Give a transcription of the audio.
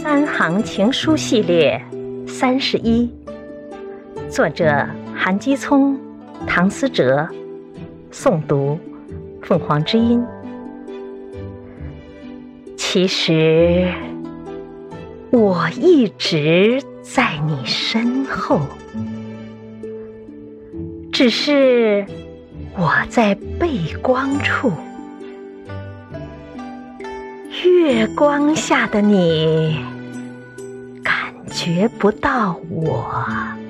三行情书系列31，作者韩基聪、唐思哲，诵读凤凰之音。其实我一直在你身后，只是我在背光处，月光下的你感觉不到我。